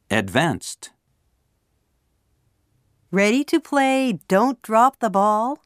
Advanced. Ready to play Don't Drop the Ball?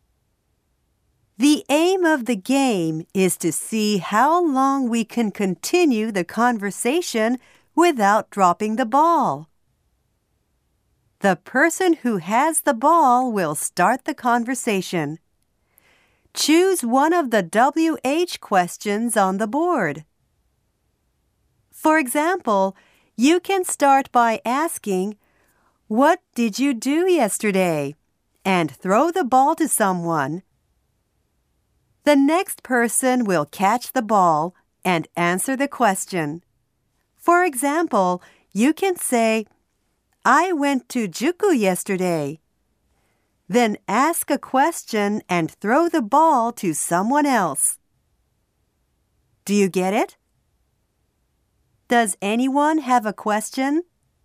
The aim of the game is to see how long we can continue the conversation without dropping the ball. The person who has the ball will start the conversation. Choose one of the WH questions on the board. For example, you can start by asking, "What did you do yesterday?" and throw the ball to someone. The next person will catch the ball and answer the question. For example, you can say, "I went to Juku yesterday." Then ask a question and throw the ball to someone else. Do you get it? Does anyone have a question?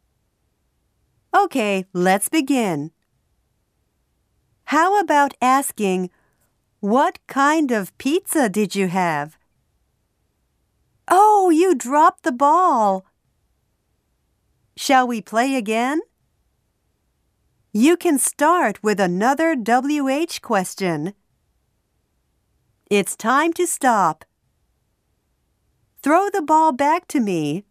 Okay, let's begin. How about asking, "What kind of pizza did you have?" Oh, you dropped the ball. Shall we play again? You can start with another WH question. It's time to stop. Throw the ball back to me.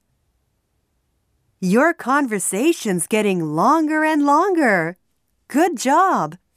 Your conversation's getting longer and longer. Good job.